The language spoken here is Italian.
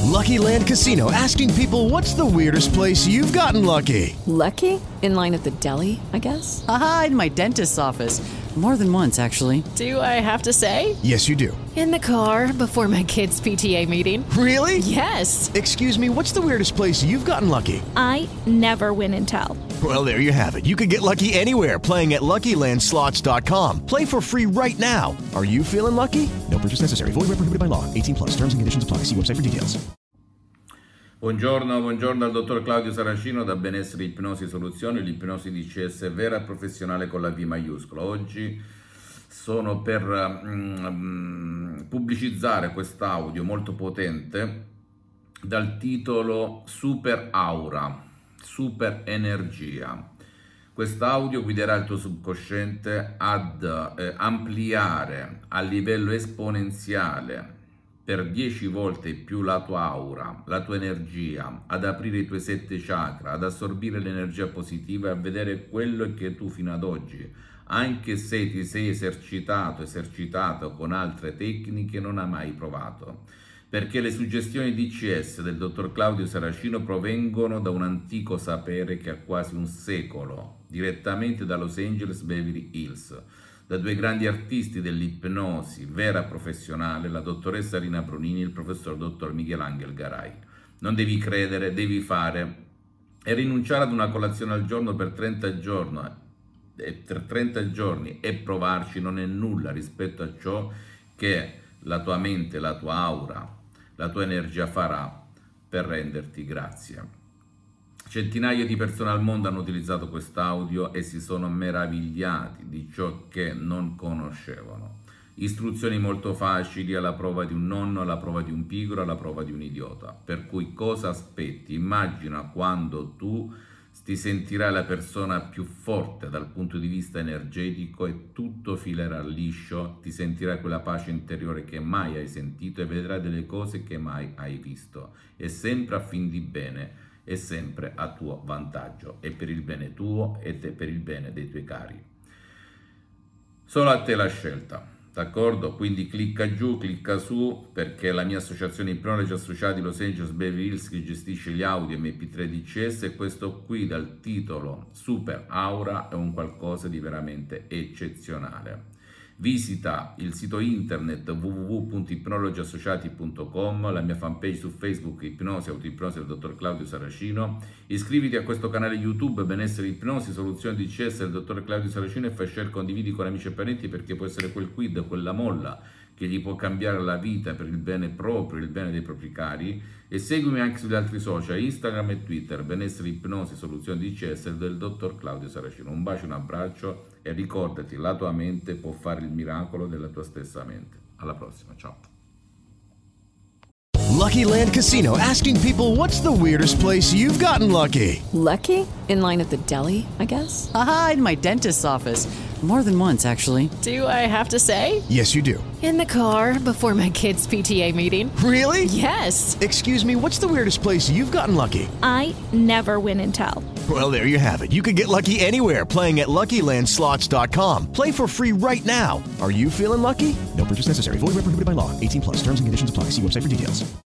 Lucky Land Casino, asking people, what's the weirdest place you've gotten lucky? Lucky? In line at the deli, I guess? Aha, in my dentist's office. More than once, actually. Do I have to say? Yes, you do. In the car before my kids' PTA meeting. Really? Yes. Excuse me, what's the weirdest place you've gotten lucky? I never win and tell. Well, there you have it. You can get lucky anywhere, playing at LuckyLandSlots.com. Play for free right now. Are you feeling lucky? No purchase necessary. Void where prohibited by law. 18 plus. Terms and conditions apply. See website for details. Buongiorno al dottor Claudio Saracino da Benessere Ipnosi Soluzioni, l'ipnosi DCS vera e professionale con la V maiuscola. Oggi sono per pubblicizzare quest'audio molto potente dal titolo Super Aura, Super Energia. Quest'audio guiderà il tuo subconsciente ad ampliare a livello esponenziale per 10 volte più la tua aura, la tua energia, ad aprire i tuoi 7 chakra, ad assorbire l'energia positiva e a vedere quello che tu fino ad oggi, anche se ti sei esercitato con altre tecniche, non hai mai provato. Perché le suggestioni DCS del dottor Claudio Saracino provengono da un antico sapere che ha quasi un secolo, direttamente da Los Angeles Beverly Hills, da due grandi artisti dell'ipnosi vera professionale, la dottoressa Rina Bronini e il professor dottor Michelangelo Garai. Non devi credere, devi fare e rinunciare ad una colazione al giorno per 30 giorni e provarci non è nulla rispetto a ciò che la tua mente, la tua aura, la tua energia farà per renderti grazie. Centinaia di persone al mondo hanno utilizzato quest'audio e si sono meravigliati di ciò che non conoscevano. Istruzioni molto facili alla prova di un nonno, alla prova di un pigro, alla prova di un idiota. Per cui cosa aspetti? Immagina quando tu ti sentirai la persona più forte dal punto di vista energetico e tutto filerà liscio, ti sentirai quella pace interiore che mai hai sentito e vedrai delle cose che mai hai visto. E sempre a fin di bene. È sempre a tuo vantaggio, è per il bene tuo ed è per il bene dei tuoi cari. Solo a te la scelta, d'accordo? Quindi clicca giù, clicca su, perché la mia associazione Ipnologi Associati Los Angeles Beverly Hills che gestisce gli audio MP3 DCS e questo qui dal titolo Super Aura è un qualcosa di veramente eccezionale. Visita il sito internet www.ipnologiassociati.com, la mia fanpage su Facebook Ipnosi Autoipnosi del dottor Claudio Saracino, iscriviti a questo canale YouTube Benessere Ipnosi Soluzioni DCS del dottor Claudio Saracino e fai share, condividi con amici e parenti perché può essere quel quid, quella molla che gli può cambiare la vita per il bene proprio, il bene dei propri cari. E seguimi anche sugli altri social, Instagram e Twitter, Benessere Ipnosi Soluzioni DCS del dottor Claudio Saracino. Un bacio, un abbraccio e ricordati, la tua mente può fare il miracolo della tua stessa mente. Alla prossima, ciao. Lucky Land Casino, asking people, what's the weirdest place you've gotten lucky? Lucky? In line at the deli, I guess? Aha, in my dentist's office. More than once, actually. Do I have to say? Yes, you do. In the car before my kids' PTA meeting. Really? Yes. Excuse me, what's the weirdest place you've gotten lucky? I never win and tell. Well, there you have it. You can get lucky anywhere, playing at LuckyLandSlots.com. Play for free right now. Are you feeling lucky? No purchase necessary. Void where prohibited by law. 18 plus. Terms and conditions apply. See website for details.